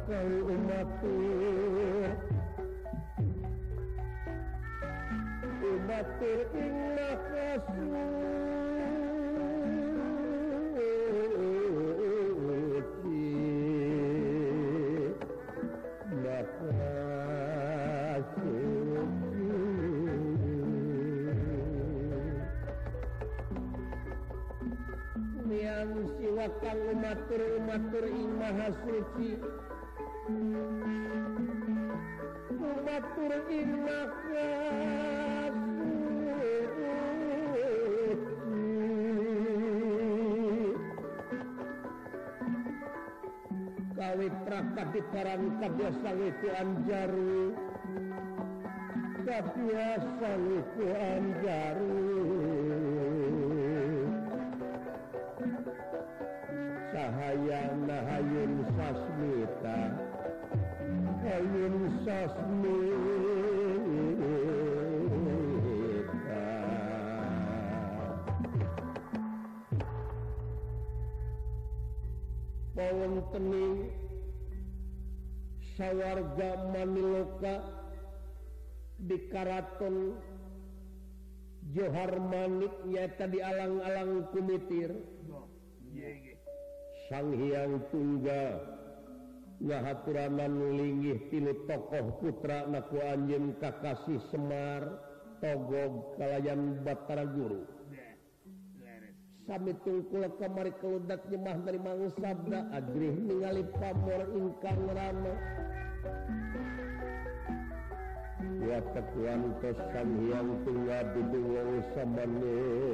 kali umatur ing siwa kang umatur ing maha suci umatur ing maha suci kawi prakadiparan kabiasa itu anjaru kabiasa itu anjaru sahayana hayun sasmita hayun sasmita pawenteni sawarga maniloka di karaton Johar Manik nyata di alang-alang kumitir Sang Hyang Tunggal ngahaturanan linggih tilu tokoh putra naku anjeun Kakasih Semar Togog kalayan Batara Guru sami tungkul kamari keludak nyemah dari mangsabda agrih ningali pamor ingkang rama wa tekuantos Sang Hyang Tunggal bidung samane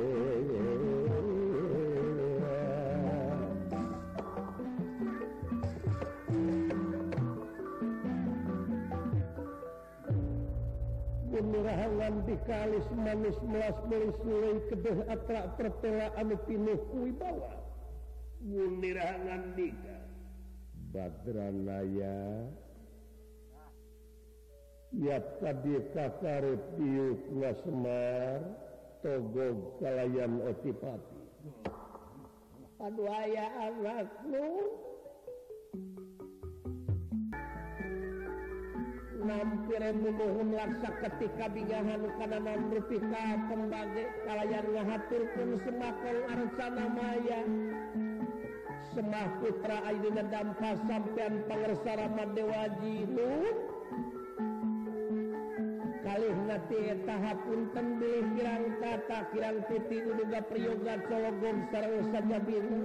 Mirahangan dikalis manis melas melis mulai kedeh atra pertela anu pinuh wibawa mirahangan dika Badranaya ya tadi kakarep diuk Semar Togog kalayan Otipati aduh aya anakmu nampir munuhun laksa ketika bingahan kananan rupika pembage kalayan ngahaturkeun semakol arcana maya semah putra ayeuna dampa sampean pangersa Ramadewaji nuhun kalih nati eta hapunten bilih kirang tata kirang putih uduga priyoga cologog sareng sajabina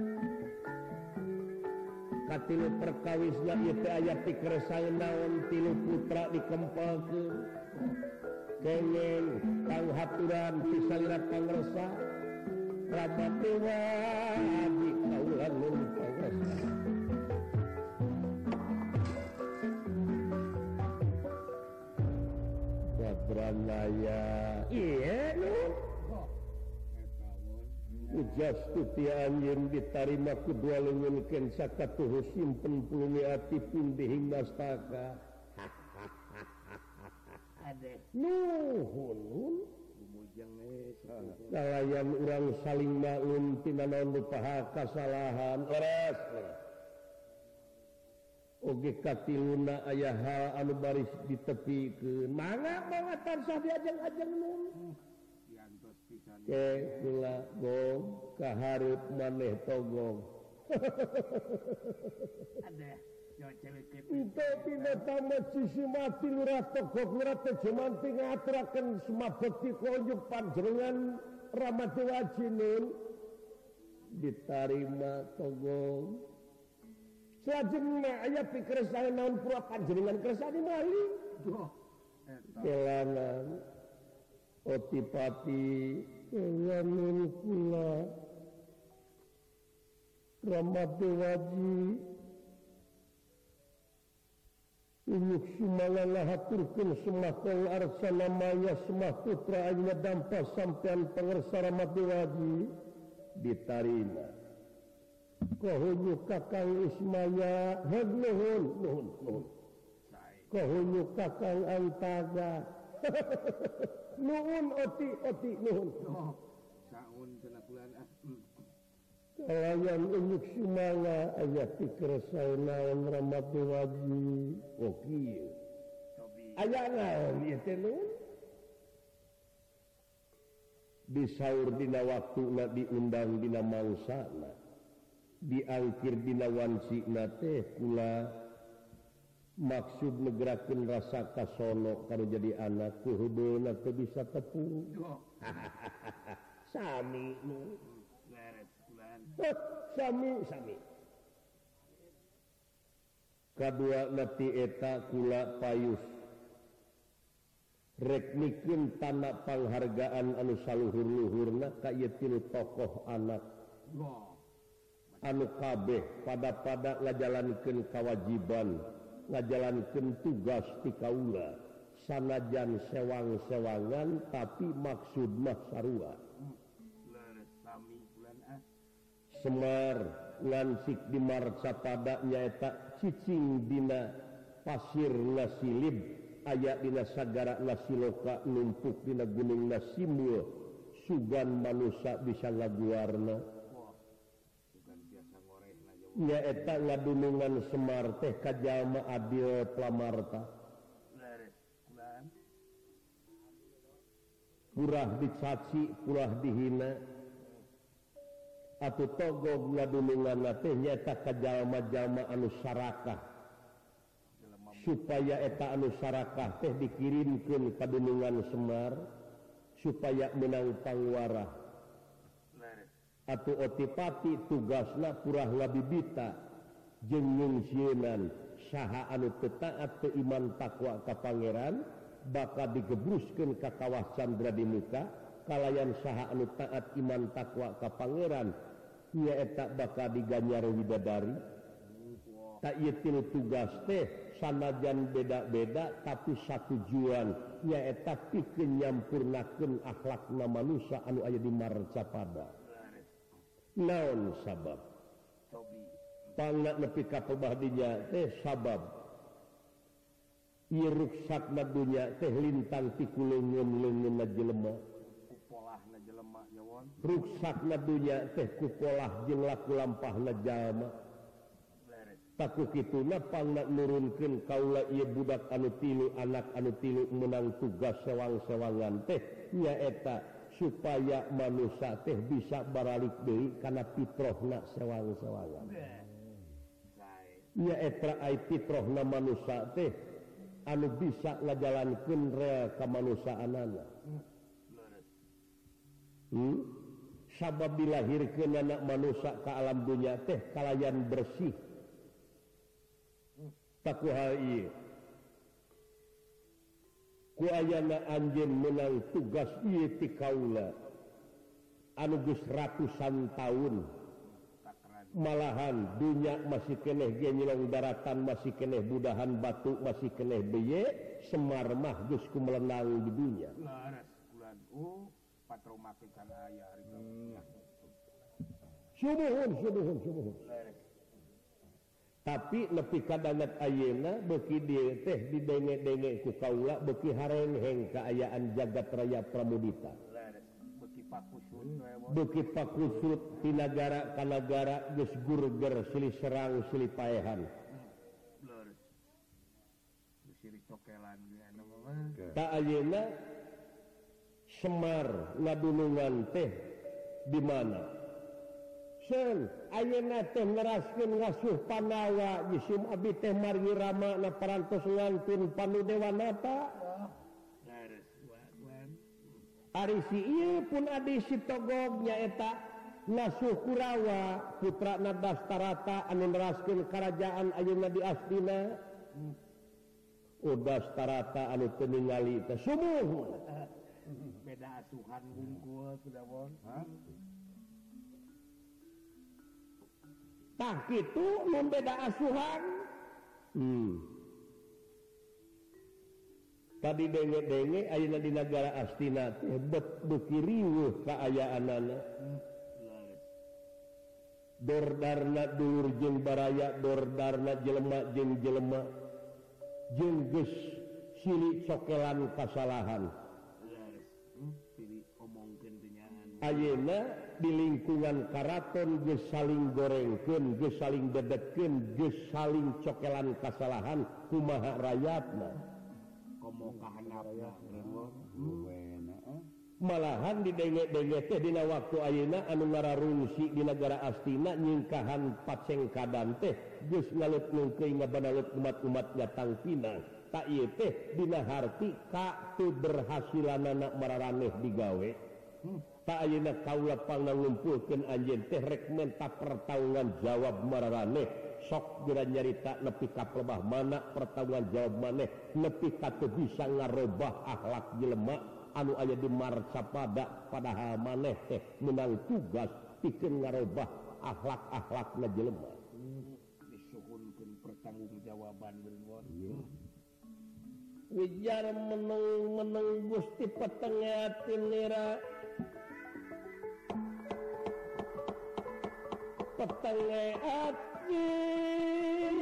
katilu perkawisna ieu teh aya pikersang naon tilu putra dikempelkeun kenging kang haturan pisalirat pangresa Ramadewaji kaula nuhun pangresa Badranaya ieu nuhun ujas tuti anjeun ditarima kedua leungeunkeun sakatuh simpen pulungi ati pindihing nastaka ade nuhun kalayan urang saling maun tina naon lupaha kasalahan ores oge katiluna aya hal anu baris ditepikeun mangga tansah diajeng-ajeng nuhun kula gong kaharep maneh Togog ada itu tina tamat sisi mati lurah Togog lurah teh cuman ngaturakeun sumabekti konjuk panjenengan Ramadewaji nun ditarima Togog salajengna aya pikersana naon pura panjenengan kersane malih kelangan Otipati lamun kula Ramadewaji Inyuk sumalala haturkeun semakol arcana maya semah putra ayeuna dampa sampean pangersa Ramadewaji ditarima kohonyu Kakang Ismaya nuhun kohonyu Kakang Antaga nuhun oti nuhun saun cenah bulan Kalayan unyuk sumanga aya pikir naon Ramadewagi. Oh kieu. Aya naon ieu teh nun? Disaur dina waktuna diundang dina mangsana. Diangkir dina wansina teh kula maksud negerakeun rasa kasono karo jadi anak ku heudeuna teu bisa tepung. Sami nu. Sami. Kadua nati eta kula payus rek mikeun tanda panghargaan anu saluhur-luhurna ka ieu tilu tokoh anak anu kabeh pada ngajalankeun kawajiban, ngajalankeun tugas ti kaula sanajan sewang-sewangan tapi maksud mah sarua. Semar ngansik di marcapada nyaeta cicing dina pasir nasilib aya dina sagara nasiloka numpuk dina gunung nasimul sugan manusia bisa ngaguarna nyaeta ngadunungan Semar teh ka jalma adil plamarta purah dicaci purah dihina atuh togog ngadununganna teh nyaeta ka jalma-jalma anu sarakah supaya eta anu sarakah teh dikirimkeun ka dunungan Semar supaya menang pangwarah atuh otipati tugasna purah ngabibita jeung ngungsieun saha anu teu taat teu iman takwa ka pangeran bakal digebruskeun ka kawah Candra di muka kalayan saha anu taat iman takwa ka pangeran nyaeta bakal diganyar widadari. Tak ieu tilu tugas teh sanajan beda-beda tapi satujuan nyaeta pikeun nyampurnakeun akhlakna manusia anu aya di marcapada. Naon sabab? Pangna nepi ka pabahdinya teh sabab ieu ruksakna dunya teh lintang ti kuleungeun-leungeunna jelema. Ruksakna dunya teh ku polah jeung laku lampahna jalma. Taku kituna pangna nurunkeun kaula ieu budak anu tilu anak anu tilu menang tugas sewang-sewangan teh nyaeta supaya manusia teh bisa baralik deui kana pitrohna sewang-sewangan. Nyaeta ai pitrohna manusia teh anu bisa ngajalankeun rel kamanusiaanana. Sabab dilahirkeun anak manusia ka alam dunya teh kalayan bersih. Taku hal ieu. Ku ayana anjeun menang tugas ieu ti kaula anu geus ratusan taun. Malahan dunya masih keneh ge nyilong daratan masih keneh budahan batu masih keneh beye Semar mah geus kumelenang di dunya. Sumuhun. Tapi nepi ka dangat ayeuna beuki dieu teh didenge-denge ku kaula beuki harengheng kaayaan jagat raya Pramudita. Beuki pakusut ti nagara ka nagara geus gurger silih serang silih paehan. Ta ayeuna Semar ngadunungan teh di mana? Sen ayeuna teh ngeraskeun ngasuh Panawa jisim abdi teh margi rama na parantos ngantun Panudewanata. Ari si ieu pun adi si Togog nyaeta ngasuh Kurawa putrana Dastarata anu neraskeun karajaan ayeuna di Astina. Dastarata anu teu ningali teh sumuh. Beda asuhan hungkul sudah bon. Tah kitu mun beda asuhan. Tadi denge-denge ayeuna di nagara Astina teh beuki riweuh kaayaanana. Dordarna dulur jeung baraya, dordarna jelema jeung jelema. Jeung geus silih cokelan kasalahan. Ayeuna di lingkungan karaton geus saling gorengkeun geus saling dedekeun geus saling cokelan kasalahan kumaha rakyatna komo kahandapna malahan didenge-denge teh dina waktu ayeuna anu ngararungsi di negara astina nyingkahan pacengkadan teh geus ngalut-ngkeung ngabanalut umat-umatnya tangpinang tak ieu teh dina harti ka teu berhasilanana mararaneh digawe tak ayeuna kaula pangangumpulkeun anjeun teh rek menta pertaungan jawab mararaneh sok geura nyarita nepi ka pelebah mana pertaungan jawab maneh nepi ka teu bisa ngarobah akhlak jelema anu aya di marcapada padahal maneh teh menang tugas pikeun ngarobah akhlak-akhlakna jelema disuhunkeun pertanggungjawaban beungon wijar meneng Gusti petengatin nira petengatin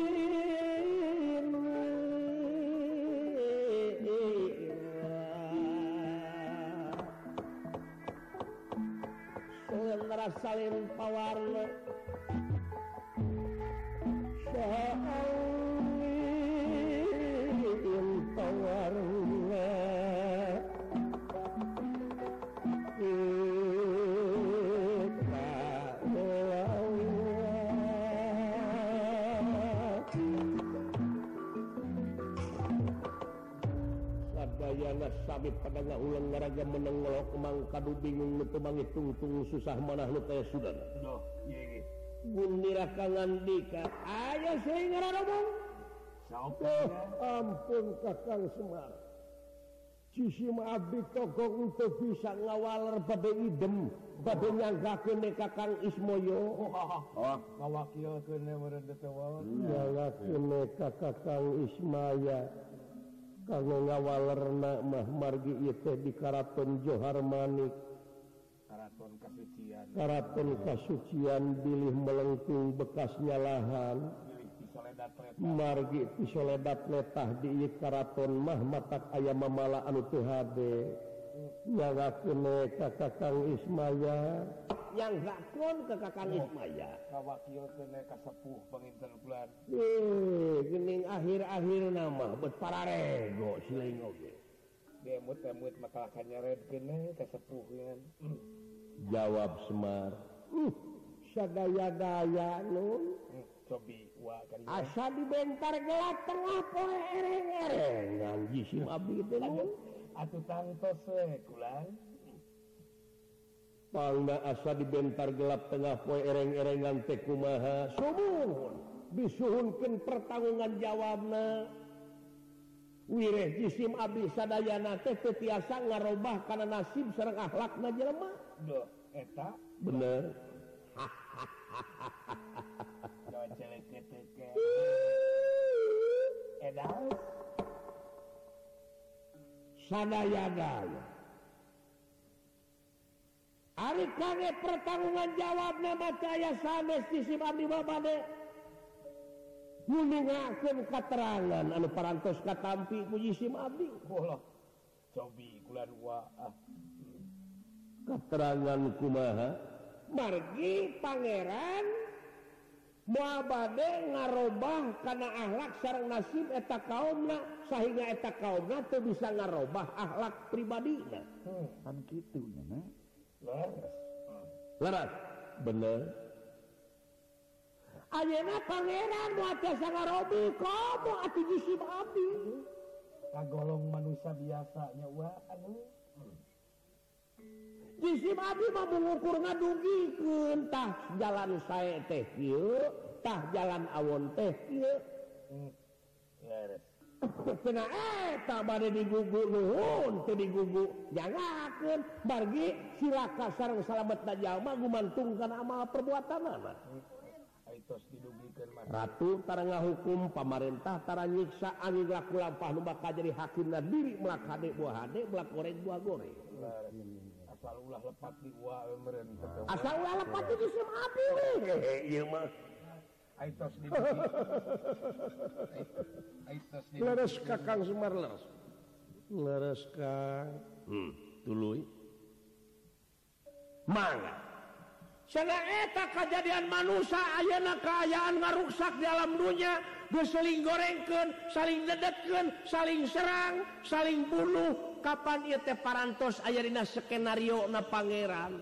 soal rasalin pawarna sabit pada ulang ngaraga meneng ngelok emang kadu bingung nu teu mangitung-tung susah manah nu teh sudan doh ieu gundira kangandika aya seuing ngaradomong saopo ampun Kakang Semar Cisim abdi togong untuk bisa ngawaler bade idem bade nyanggakeun Kakang Ismoyo ngawakilkeun meureun teh wae nyanggakeun Kakang Ismaya kanggo ngawalerna mah margi ieu teh di Karaton Johar Manik Karaton kasucian bilih melengkung bekasnya lahan margi pisoledat letah di ieu karaton mah matak aya mamala anu teu hade nyanggakeun ka Kakang Ismaya nyanggakeun ke Kakang Ismaya ngawakilkeun ka sepuh panginten bulan geuning akhir-akhirna mah bet pararego sileung oge demut makalakan nyaredkeun ka sepuh jawab Semar sadaya-daya nun cobi wa kan asa dibentar gelap tengah poe ereng-erengan jisim abdi teh nun atuh tangtos we kulan pangna asa dibentar gelap tengah poe ereng-erengan teh kumaha sumuhun disuhunkeun pertangungan jawabna wireh jisim abdi sadayana teh teu tiasa ngarobah kana nasib sareng akhlakna jelema doh eta bener sadaya-daya ari kangge pertanggungan jawabna macaya sanes jisim abdi babade nulungakeun katerangan anu parantos katampi ku jisim abdi bola cobi kulan wa keterangan kumaha margi pangeran moal bade ngarobah kana akhlak sareng nasib eta kaumna sahingga eta kaumna teu bisa ngarobah akhlak pribadina kan kitu nya leres bener ayeuna pangeran moal tiasa ngarobi komo atuh jisim abdi kagolong manusia biasa nya wa anu jisim abdi mah mengukur ngadugikeun tah jalan sae teh kieu tah jalan awon teh kieu leres cenah eta bade digugu nuhun teu digugu jangakeun margi silaka sareng salametna jalma gumantung kana amal perbuatanana aitos didugikeun mah ratu tara ngahukum pamarentah tara nyiksa angin laku lampah nu bakal jadi hakimna diri melak hade buah hade melak goreng buah goreng asal ulah lepat di wa meureun asal ulah lepat di jisim abdi ieu mah aitos di aitos di leres Kakang Semar leres Kang tuluy mangga cenah eta kejadian manusia ayeuna kaayaan ngaruksak di alam dunia geus saling gorengkeun saling dedetkeun saling serang saling bunuh kapan ieu teh parantos aya dina skenario na pangeran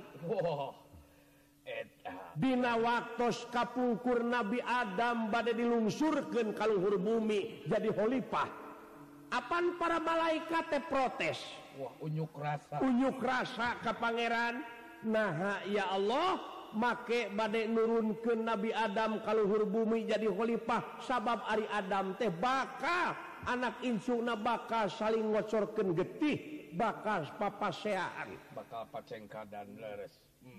dina waktos kapungkur Nabi Adam bade dilungsurkeun ka luhur bumi jadi khalifah apan para malaikat teh protes unyuk rasa ka pangeran nah ya Allah make bade nurunkeun Nabi Adam ka luhur bumi jadi khalifah sabab ari Adam teh bakal anak insuna bakal saling ngocorkeun getih bakal papaseaan bakal pacengkadan leres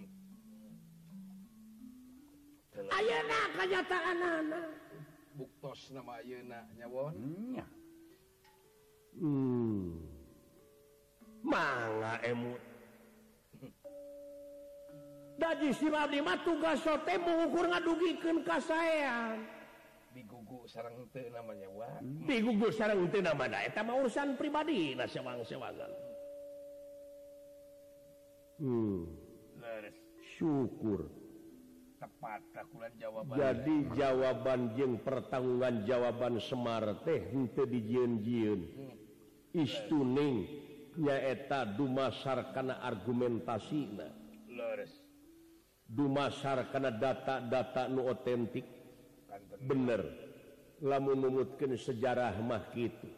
ayeuna kanyataanana buktos nama ayeuna nyawon mangga emut daji si abdi mah tugas teh mengukur ngadugikeun kasaean digugu sareng teu namanya digugu sareng teu namana eta mah urusan pribadina sewang-sewangan leres syukur tepat kakulan jawaban jadi jawaban jeung pertanggungan jawaban Semar teh henteu dijieun-jieun istuning nyaeta dumasar kana argumentasina leres dumasar kana data-data nu otentik bener lamun numutkeun sejarah mah kitu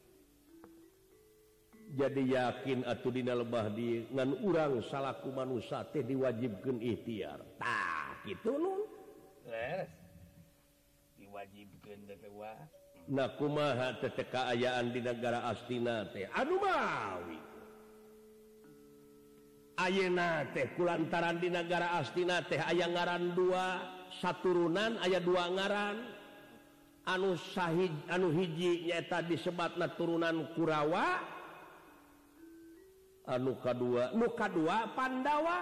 jadi yakin atuh dina lebah di ngan urang salaku manusia teh diwajibkeun ikhtiar tah kitu nun leres diwajibkeun teh nah kumaha teh kaayaan di negara astina teh anu mawi ayeuna teh kulantaran di negara astina teh aya ngaran dua saturunan aya dua ngaran anu sahid anu hiji nyaeta disebatna turunan Kurawa anu kadua Pandawa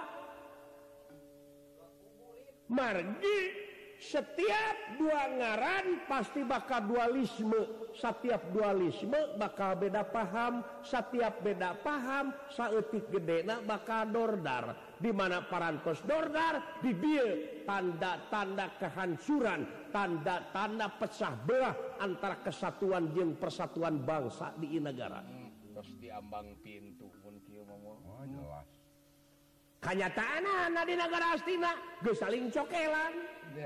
margi setiap dua ngaran pasti bakal dualisme setiap dualisme bakal beda paham setiap beda paham saeutik gedena bakal dordar di mana parantos dordar di dieu tanda-tanda kehancuran tanda-tanda pecah belah antara kesatuan jeung persatuan bangsa di negara terus diambang pintu pun kieu mah jelas kanyataanna di negara astina geus saling cokelan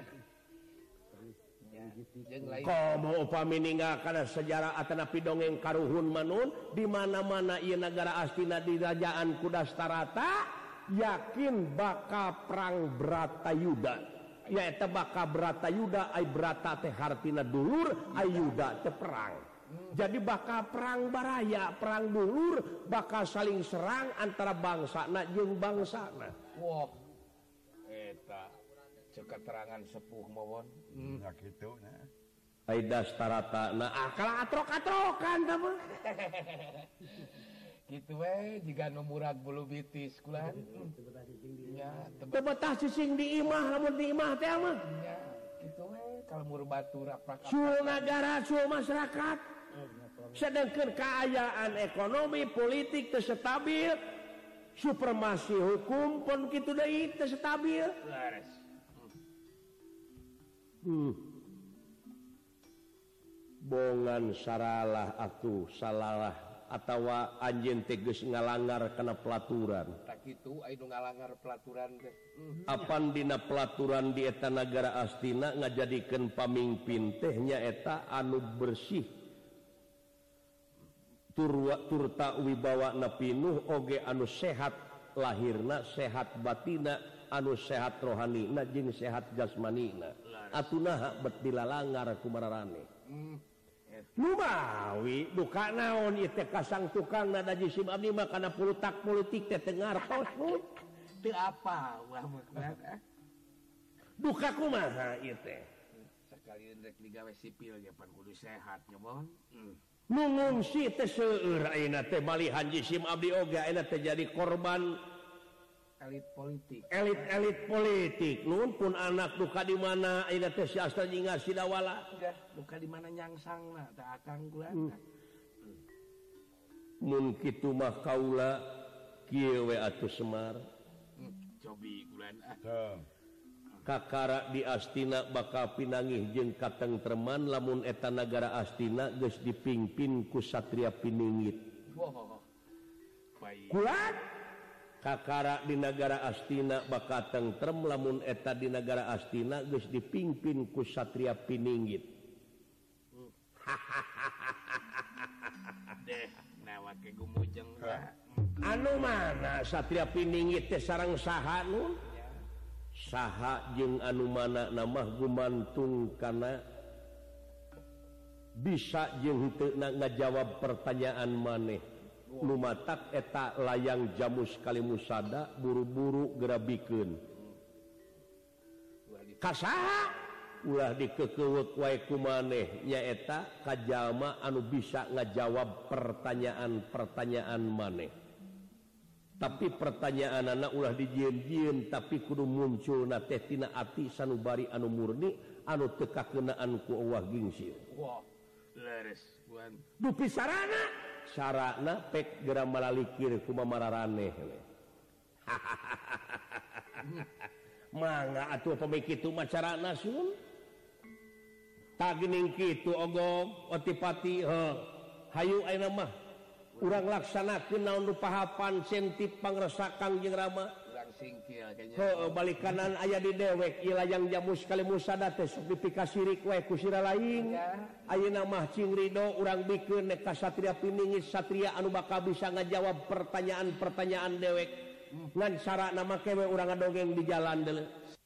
komo upami ninggalkan sejarah atanapi dongeng karuhun manun di mana-mana ieu negara astina di kerajaan Kudastarata yakin bakal perang Bratayuda nyaeta bakal Bratayuda ai Brata teh hartina dulur ai Yuda teh perang jadi bakal perang baraya perang dulur bakal saling serang antara bangsana jeung bangsana wah eta keterangan sepuh mawon ya gitu nah ai Dastarata nah kalah atrok-atrokan tah mah kitu we jiga nu murag bulu bitis kulan nya teu betah cicing di imah lamun di imah teh mah nya kitu we kalmur batur aprak sul nagara sul masyarakat sedangkeun kaayaan ekonomi politik teu stabil supremasi hukum pun kitu deui teu stabil lares bongan saralah atuh salalah atawa anjeun teh geus ngalanggar kana pelaturan tak kitu aya nu ngalanggar pelaturan teh apan dina pelaturan di eta nagara astina ngajadikeun pamimpin teh nyaeta anu bersih turta wibawana pinuh oge anu sehat lahirna sehat batina anu sehat rohanina jeung sehat jasmanina atunaha bet dilalanggar kumararane nu mawi duka naon ieu teh kasang tukangna daji sim abdi mah kana pulutak politik teh teu ngartos teu apa ulah mah duka kumaha ieu teh sakalian rek digawe sipil ge pan kudu sehat nya bon nu ngungsi teh seueur ayeuna teh malihan jisim abdi oge ayeuna teh jadi korban elit politik nun pun anak duka di mana ayeuna teh si asta nyingar si dawala duka di mana nyangsangna teh akang kula mun kitu mah kaula kieu we atuh Semar cobi kulan Kakara di Astina bakal pinangih jeung katengtreman lamun eta nagara Astina geus dipingpin ku satria piningit. Kulat kakara di negara Astina bakal tentrem lamun eta di negara Astina geus dipingpin ku satria piningit. Deh, nawa ke gumujeng. Anu mana satria piningit teh sareng saha nun? Saha jeung anu mana nama gumantung kana bisa jeung henteu ngajawab pertanyaan maneh. Nu matak eta layang jamus kalimusada buru-buru gerabikeun. Kasaha ulah dikekeuweuk wae ku maneh nyaeta ka jalma anu bisa ngajawab pertanyaan-pertanyaan maneh. Tapi pertanyaanna ulah dijieun-jieun tapi kudu munculna teh tina ati sanubari anu murni anu teu kakeunaan ku Allah gingsil. Wah, leres buan. Dupi sarana, sarana pek geura malalikir ku mamararaneh. Mangga atuh pami kitu macarana sun. Tak geuning kitu ogog otipati hayu ayeuna mah urang laksanakeun naon nu pahapan sentip pangresakan jeung Rama. Urang singkil kayaknya. Heuh balik kanan aya di dewek ieu layang jamus kalimusada teh sok dipikasirik wae ku sira lain. Ayeuna mah cing ridho urang bikeun nek ka satria piningit satria anu bakal bisa ngajawab pertanyaan-pertanyaan dewek. Ngan sarana make we urang ngadongeng di jalan deuleu.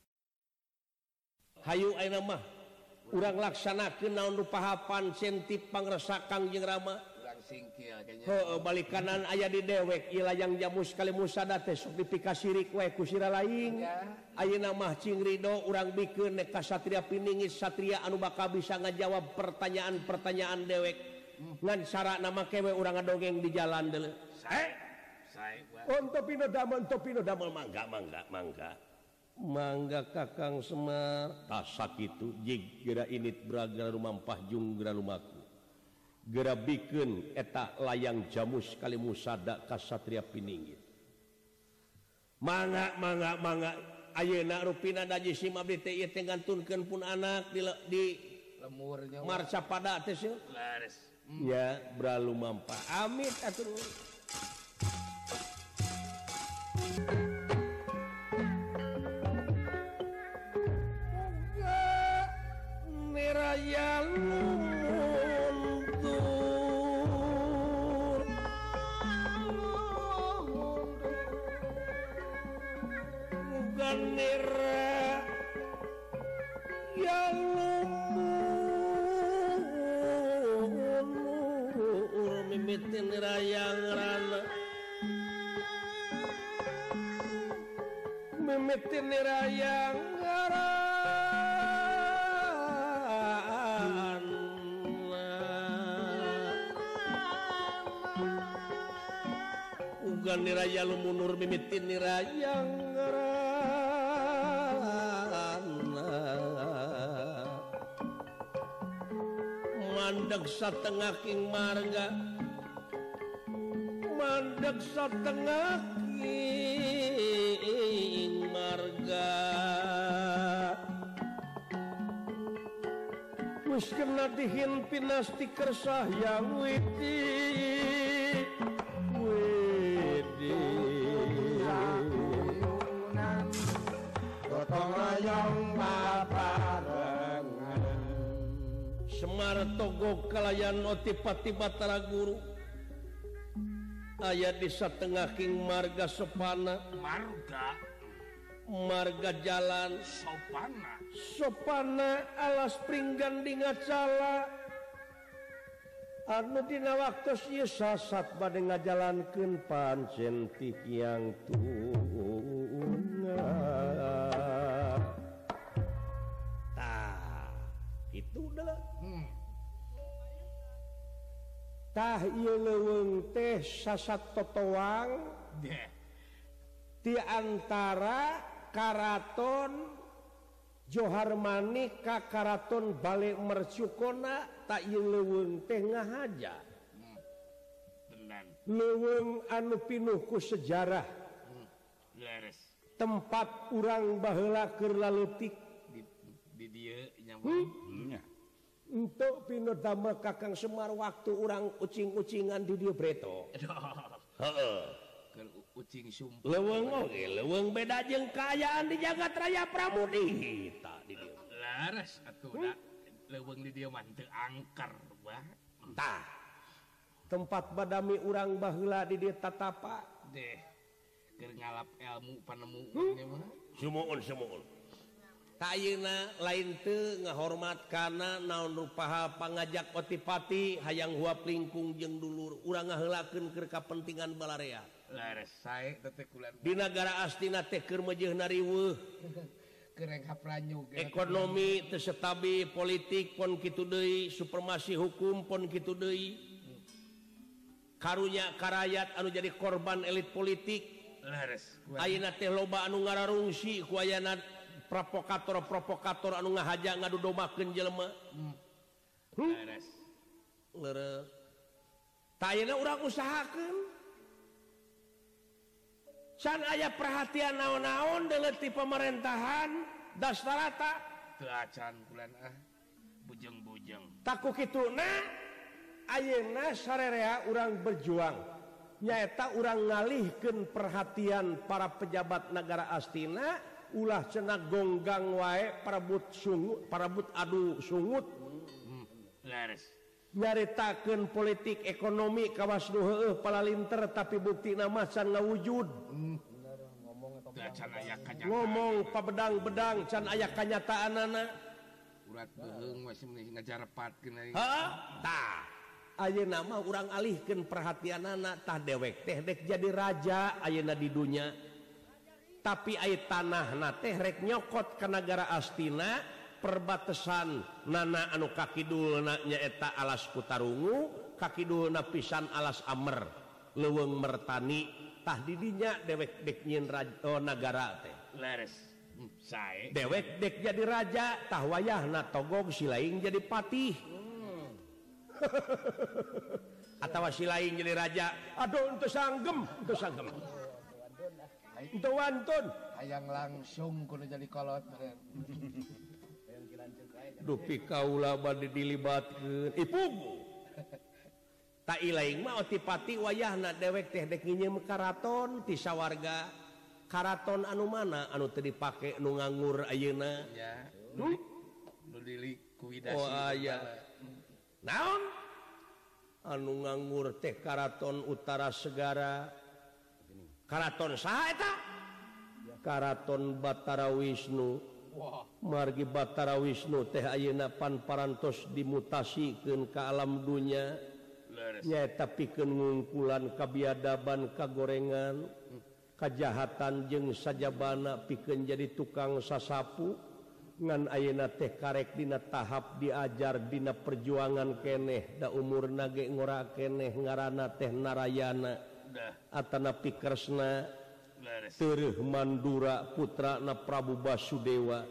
Hayu ayeuna mah urang laksanakeun naon nu pahapan sentip pangresakan jeung Rama. Singkil kayaknya. Heuh balik kanan aya di dewek ieu layang jamus kalimusada teh sok dipikasirik wae ku sira lain. Ayeuna mah cing ridho urang bikeun nek ka satria piningit satria anu bakal bisa ngajawab pertanyaan-pertanyaan dewek. Ngan sarana make we urang ngadongeng di jalan deuleu. Sae. Ontopino damel mangga. Mangga Kakang Semar. Tah sakitu jig geura init braga rumampah jung geura lumaku. Geura bikeun eta layang jamus kalimusada ka satria piningit. Mangga ayeuna rupina daji sim abdi teh ieu teh ngantunkeun pun anak di Lemurnya marca pada teh seuh. lares. Ya bralu mampah. Amit atuh. Neraya nira yang lumur mimitin rayang rana mimitin rayang rana ugan niraya lumunur mimitin rayang rana mandeg satengah king marga mandeg satengah king marga wis kena dihimpin asti kersah yang widi gotong royong babarengan Semar togo kalayan otipati Batara Guru aya di satengah king marga sopana marga jalan sopana alas pringgan di ngacala anu dina waktos ieu sasat bade ngajalankeun pancen ti kiang tunggal. Tah, itu udah. Tah ieu leuweung teh sasat totoang ti antara karaton Johar Manik ka karaton Bale Mercukona tak ieu leuweung teh ngahaja. Leuweung anu pinuh ku sejarah. tempat urang baheula keur laletik di dieu nya untuk pinu damel Kakang Semar waktu urang ucing-ucingan di dieu breto. Heeh. Keur ucing sumpah. Leuweung beda jeung kaayaan di jagat raya Pramudita di dieu. Laras atuh da leuweung di dieu mah teu angker bah. Tah. Tempat badami urang baheula di dieu tatapa. Deh. Keur ngalap ilmu panemu nya mah. Sumuun. Ayeuna lain teu ngahormat kana naon rupaha pangajak otipati hayang huap lingkung jeung dulur urang ngaheulakeun keur kapentingan balarea. Lares sae teh kulan. Di nagara astina teh keur meujeuhna riweuh. Keur ngapranyu ekonomi teu stabil, politik pon kitu deui, supremasi hukum pon kitu deui. Karunya karayat anu jadi korban elit politik. Lares. Ayeuna teh loba anu ngararungsi ku ayana provokator anu ngahaja ngadu dombakeun jelema. Lares. Leres. Tayana urang usahakeun. Can aya perhatian naon-naon deuleu ti pemerintahan dastarata. Teu acan kulan bujeng-bujeng. Taku kituna ayeuna sarerea urang berjuang. Nyaeta urang ngalihkeun perhatian para pejabat negara astina ulah cenah gonggang wae parabut adu sungut. Lares. Nyaritakeun politik ekonomi kawas nu heueuh palalinter tapi buktina mah can ngawujud. Ngomong pabedang-bedang can aya kanyataanana. Urat beheung we ngajarepatkeun ari. Heeh. Tah. Ayeuna mah urang alihkeun perhatianana tah dewek teh dek jadi raja ayeuna di dunya. Tapi aya tanahna teh rek nyokot ka nagara astina perbatasan nana anu kakidulna nyaeta alas Kutarungu, kakidulna pisan alas Amer, leuweung Mertani, tah di dinya dewek dek nyieun nagara teh. Leres. Sae. Dewek dek jadi raja, tah wayahna togog si laing jadi patih. Atawa si laing jadi raja, aduh ente sanggem. Ente wantun. Hayang langsung kudu jadi kolot. Dupi kaula bade dilibatkeun ipugu. Ta ilaing mah otipati wayahna dewek teh dek ngieum karaton ti sawarga. Karaton anu mana anu teu dipake nu nganggur ayeuna? Ya. Nu dilikuidasi. Oh aya. Naon? Anu nganggur teh Karaton Utara Segara. Karaton saha eta? Karaton Batara Wisnu. Margi Batara Wisnu teh ayeuna pan parantos dimutasikeun ka alam dunya. Nyaeta pikeun ngungkulan kabiadaban kagorengan, kajahatan jeung sajabana pikeun jadi tukang sasapu. Ngan ayeuna teh karek dina tahap diajar dina perjuangan keneh da umurna ge ngora keneh ngaranna teh Narayana. Atana Pikresna Teureuf Mandura putrana Prabu Basudewa.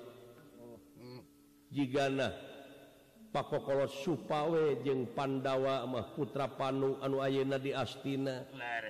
Jigana Pakokolo Supawe jeung Pandawa mah putra Panu anu ayeuna di Astina.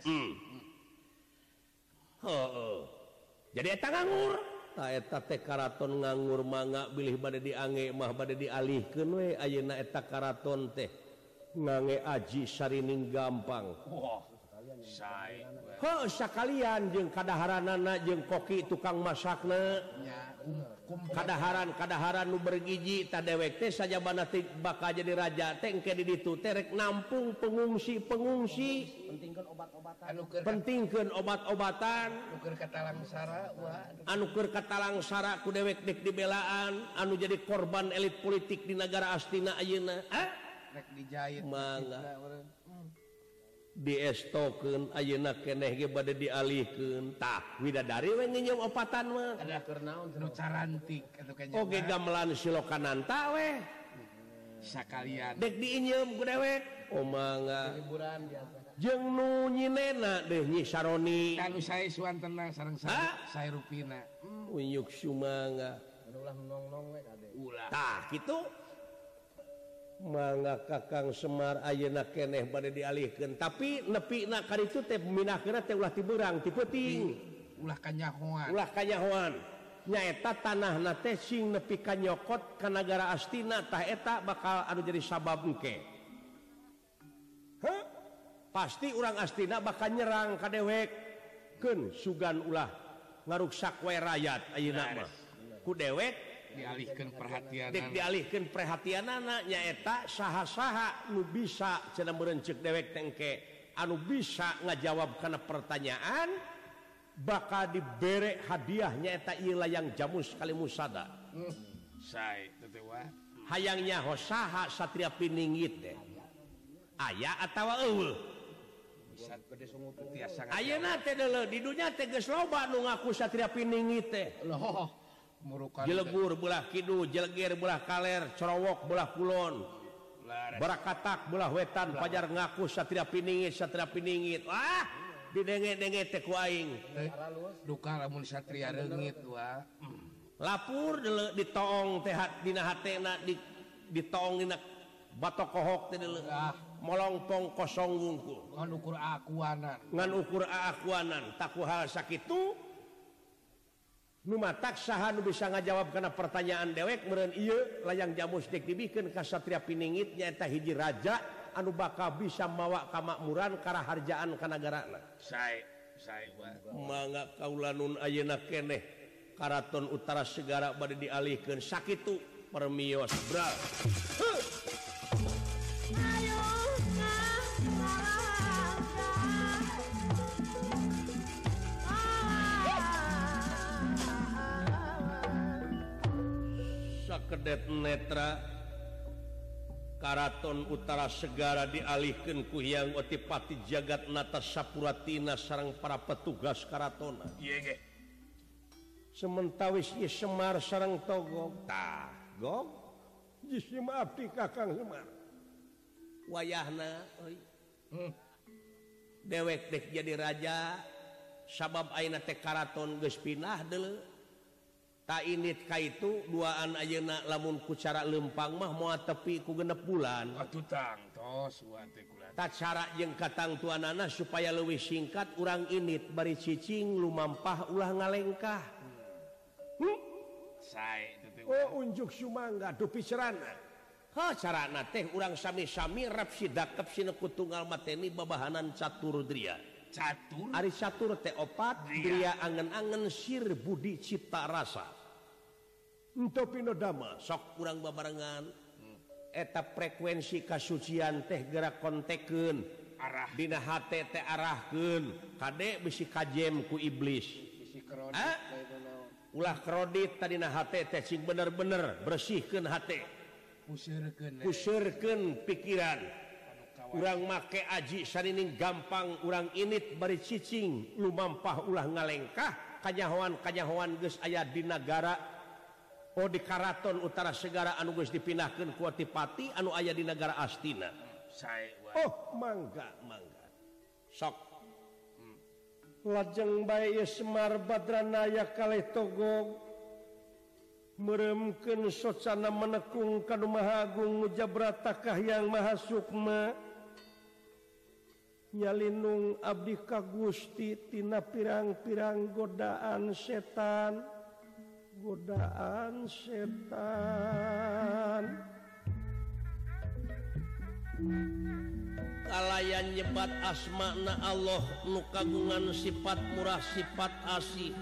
Jadi eta nganggur. Ta eta teh karaton nganggur mangga bilih bade diange mah bade dialihkeun we ayeuna eta karaton teh ngange aji sarining gampang. Sae. Heuh sakalian jeung kadaharanana jeung koki tukang masakna. Kadaharan nu bergiji ta dewek teh sajabana teh bakal jadi raja teh engke di ditu teh rek nampung pengungsi. Pentingkeun obat-obatan. Anu keur katalangsara ku dewek dek dibelaan anu jadi korban elit politik di negara astina ayeuna. Rek dijahit. Mangga. Diestokeun ayeuna keneh ge bade dialihkeun. Tah widadari we ngeunyum opatan mah. Ada keur naon nu carantik atuh kayaknya. Oge gamelan silokananta we. Sakalian. Dek diinyeum ku dewek. Oh mangga. Liburan biasa. Jeung nu nyinena deh Nyi Saroni. Kanu sae suantena sareng sae rupina. Uyuk sumangga. Ulah nong-nong we kade. Ulah. Tah kitu. Mangga Kakang Semar ayeuna keneh bade dialihkeun tapi nepina ka ditu teh minahkeunna teh ulah ti beurang ti peuting. ulah kanyahoan nyaeta tanah nate sing nepi ka nyokot ka nagara Astina tah eta bakal anu jadi sabab engke pasti urang Astina bakal nyerang ka dewek keun sugan ulah ngaruksak wae rakyat ayeuna mah ku dewek dialihkeun perhatianana nyaeta saha-saha nu bisa cenah meureun ceuk dewek tengke anu bisa ngajawab kana pertanyaan bakal dibere hadiahnya eta ieu layang jamus kali musada. Sae teh wah. Hayangnya hosaha satria pininggit teh. Aya atawa eueuh? Bisa gede sungut tiasa. Ayeuna teh deuleu di dunya teh geus loba nu ngaku satria pininggit teh. Loh, murukan. Jelegur belah kidul, jeleger belah kaler, corowok belah kulon. Barakatak belah wetan pajar ngaku satria pininggit. Wah, didenge-denge teh ku aing. Duka lamun satria reungit wah. Lapur deuleu ditoong teh dina hatena ditoong dina batok kohok teh deuleu. Molongpong kosong wungkul. Ngan ukur akuanan. Tak hal sakitu nu matak saha nu bisa ngajawab kana pertanyaan dewek meureun ieu layang jamus dek dibikeun ka satria pininggit nyaeta hiji raja anu bakal bisa mawa kamakmuran karaharjaan ka nagarana. Sae wah. Mangga kaula nun ayeuna keneh Karaton Utara Segara bade dialihkeun sakitu permios bra. Sakedet netra Karaton Utara Segara dialihkeun ku Hyang Otipati Jagatnata Sapuratina sareng para petugas karatona. Ieu ge. Sementawis ieu Semar sareng Togog. Tah, Gog. Jisi abdi Kakang Semar. Wayahna euy. Dewek dek jadi raja sabab ayeuna teh karaton geus pindah deuleu. Ta init ka itu duaan ayeuna lamun ku cara lempang mah moal tepi ku 6 bulan. Atuh tang tos wa teh kulan. Ta cara jeung katangtuanana supaya leuwih singkat urang init bari cicing lumampah ulah ngalengkah. Sae teh. Oh unjuk sumangga dupi cerana. Ha carana teh urang sami-sami rap sidakep sineku tunggal mateni babahanan catur dria. Catur Ari catur teh opat dria angen-angen sir budi cipta rasa. Ento pinodama sok urang babarengan eta frekuensi kasucian teh gerak kontekeun arah dina hate teh arahkeun kade bisi kajem ku iblis. Bisi krodit ulah krodit tadina hate teh sing bener-bener bersihkeun hate. Pusirkeun pikiran. Urang make aji sarining gampang urang init bari cicing lumampah ulah ngalengkah kanyahoan geus aya di nagara di Karaton Utara Segara anu geus dipindahkeun ku Otipati anu aya di nagara Astina. Sae Mangga sok lajeng bae Semar Badranaya kalih Togog meremkeun socana menekung ka Maha Agung Mujabrata Kahyang Maha Sukma nyalinung abdi ka Gusti tina pirang-pirang godaan setan kalayan nyebat asmana Allah nu kagungan sifat murah sifat asih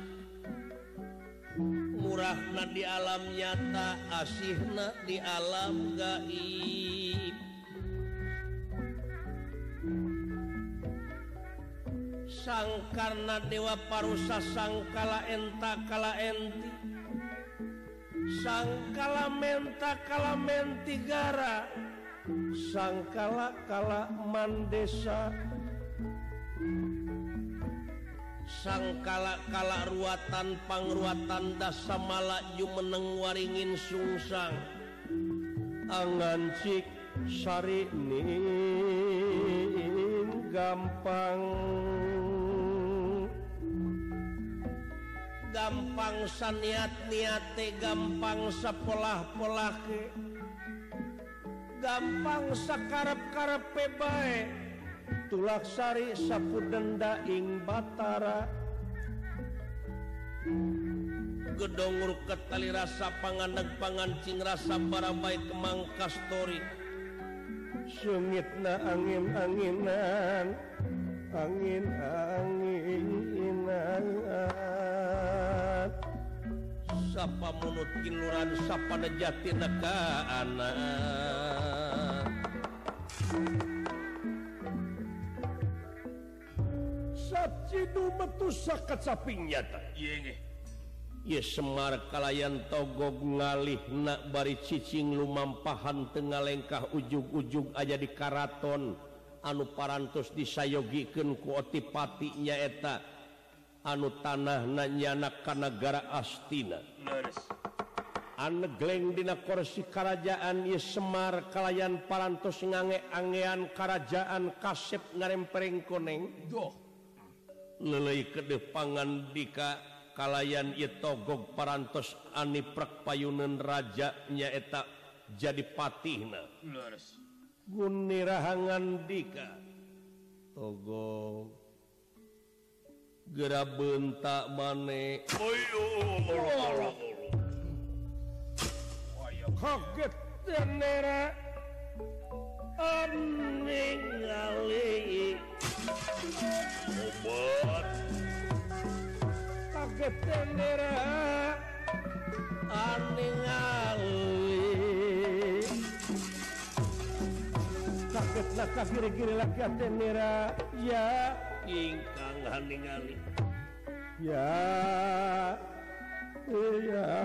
murahna di alam nyata asihna di alam gaib sangkarna dewa parusa sangkala enta kala enti sangkala menta kala mentigara sangkala kala mandesa sangkala kala ruatan pangruatan dasamala jumeneng waringin sungsang angan cik sarining gampang saniat-niate gampang sapolah-polake gampang sakarep-karepe bae tulaksari sapudenda ing batara gedong ruket tali rasa pangandag pangancing rasa barabait kemang kastori sengitna angin-anginan angin-anginan sapa munut kiluran sapa nejatina ka anak sacidu metu sakat sapingnya ta ye Semar kalayan togog ngalih nak bari cicing lumampahan tengah lengkah ujug-ujug aja di karaton anu parantos disayogikeun ku otipati nyaeta anu tanah nanyanak ka nagara Astina anegleng dina kursi kerajaan ye Semar kalayan parantos ngange-angean kerajaan kasep ngarempereng koneng lelei kedepangan dika kalayan ieu togog parantos aniprak payuneun raja nyaeta jadi patihna Guni rahangan dika togog gera bentak mane kaget tenera aningali obat kaget tenera aningali kaget laka kiri-kiri laki tenera ya ingkang aningali ya ya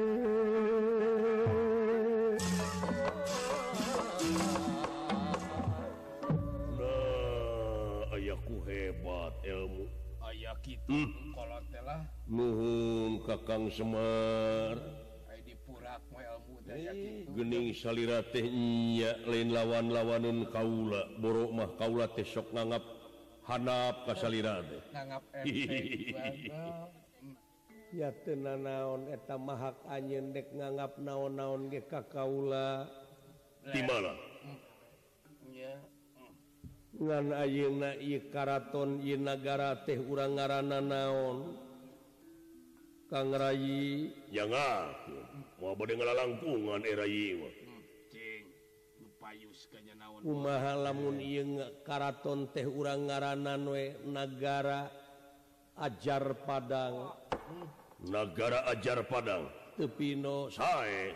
ayahku hebat ilmu ayah kitu kolot teh lah nuhun Kakang Semar ai dipurak mah ilmu teh aya kitu geuning salira teh nya lain lawan-lawaneun kaula borok mah kaula teh sok nganggap handap ka salira teh nganggap efek ya teu nanaon eta mah hak anjeun dek nganggap naon-naon ge ka kaula di mana nya ngan ayeuna ieu karaton ieu nagara teh urang ngaranna naon Kang Rayi jangan moal bade ngalalangkungan Rayi mah cing nu payus ka nya naon kumaha lamun ieu karaton teh urang ngaranna we nagara Ajar Padang nagara Ajar Padang teu pino sae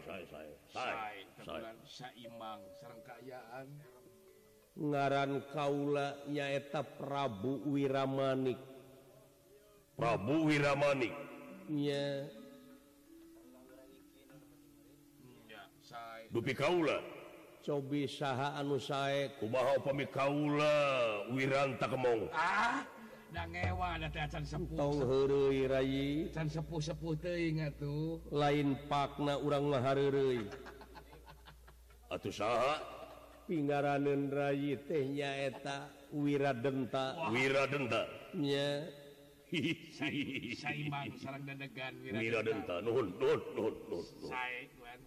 saimbang sareng kaayaan ngaran kaula nyaeta Prabu Wiramanik nya dupi kaula cobi saha anu sae kumaha upami kaula wiranta kemong da ngewa da teh can sepuh tong heureuy Rayi can sepuh-sepuh teuing atuh lain pakna urang mah hareureuy atuh saha pingaraneun Rayi teh nyaeta Wiradenta nya saimbang sareng dedegan Wiradenta nuhun sae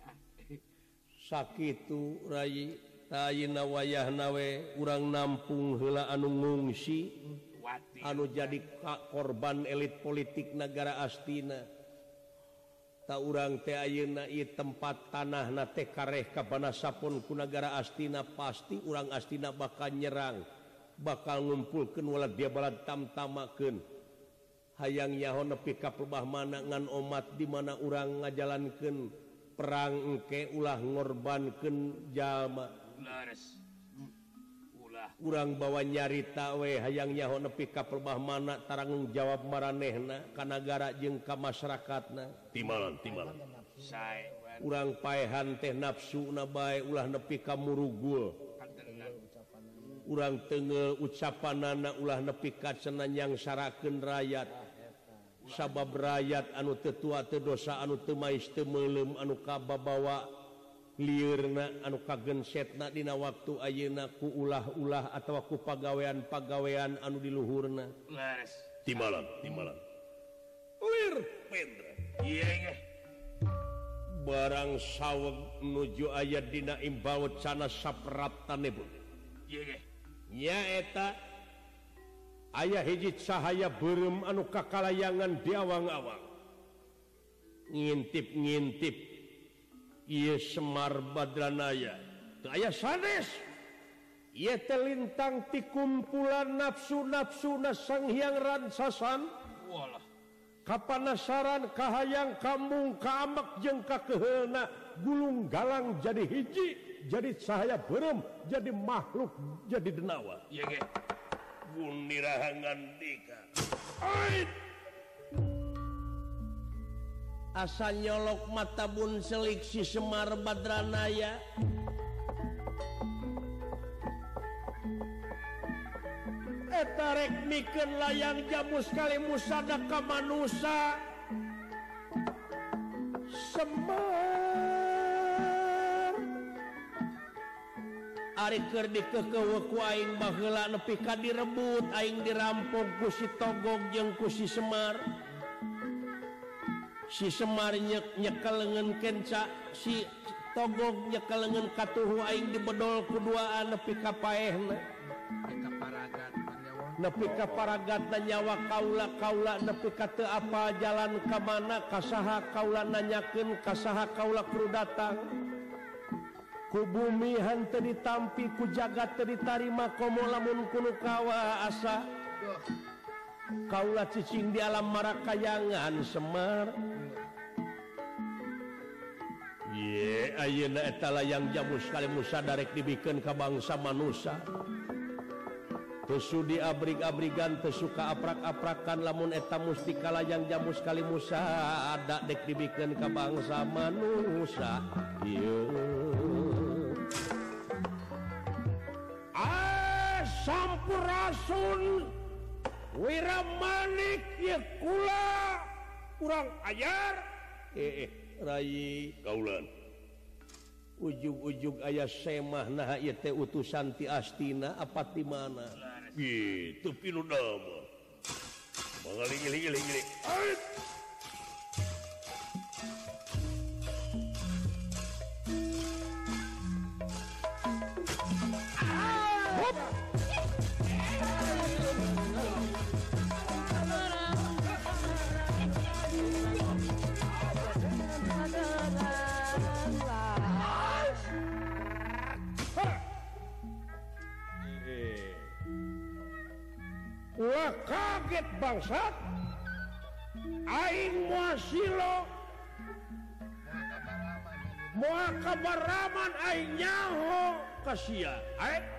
sakitu Rayi tayina wayahna we urang nampung heula anu ngungsi anu jadi korban elit politik negara Astina tak urang teh ayeuna ieu tempat tanahna teh kareh kabanasapun ku negara Astina pasti urang Astina bakal nyerang bakal ngumpulkeun walad dia balad tamtamakeun hayang nyaho nepi ka pelbah mana ngan omat di mana urang ngajalankeun perang engke ulah ngorbankeun jalma urang bawa nyarita we hayang nyaho nepi ka pelbah mana tarang jawab maranehna ka nagara jeung ka masyarakatna timalan sae urang paehan teh nafsuna bae ulah nepi ka murugul urang teungel ucapanana ulah nepi ka cenah nyangsarakeun rakyat sabab rakyat anu teu tua teu dosa anu teu mais teu meulem anu kababawa liurna anu kagensetna dina waktu ayeuna ku ulah-ulah atawa ku pagawean-pagawean anu di luhurna timalan lir pendra ieu ge barang saweg nuju aya dina imbaut sana sapraptanebun ieu ge nyaeta Ayah hiji cahaya berem anu kakalayangan di awang-awang ngintip-ngintip ieu Semar Badranaya teu aya sanes ieu teh lintang ti kumpulan nafsu-nafsuna Sang Hyang Ransasan walah kapanasaran kahayang kambung kaamek jeung kakeheulna gulung galang jadi hiji jadi cahaya berem jadi makhluk jadi denawa ieu ge Gunirahangan asa nyolok mata bun selik si Semar Badranaya eta rek mikeun layang jamu sekali musada ka manusa Ari keur dikekeuweuk ku aing baheula nepi ka direbut aing dirampok ku si Togog jeung ku si Semar. Si Semar nyekeleungeun kenca si Togog nyekeleungeun katuhu aing dibedol ku duaan nepi ka paehna. Nepi ka paragatna nyawa kaula nepi ka teu apa jalan ka mana ka saha kaula nanyakeun ka saha kaula kudu datang. Ku bumi henteu ditampi ku jagat teu ditarima komo lamun kuno kawa asa kaula cicing di alam marakayangan Semar ye ayeuna eta layang jamu sekali musa darek dibikeun ka bangsa manusia teu sudi abrig-abrigan teu suka aprak-aprakan lamun eta mustika layang jamu sekali musa ada dek dibikeun ka bangsa manusia Sampurasun Wiramanik ya kula kurang ajar Rai kaulan ujug-ujug aya semah nah ieu teh utusan ti Astina apa ti mana gitu pilu nama mangaling-giling Wah kaget bangsat aing moal silo moal kabaraman aing nyaho ka sia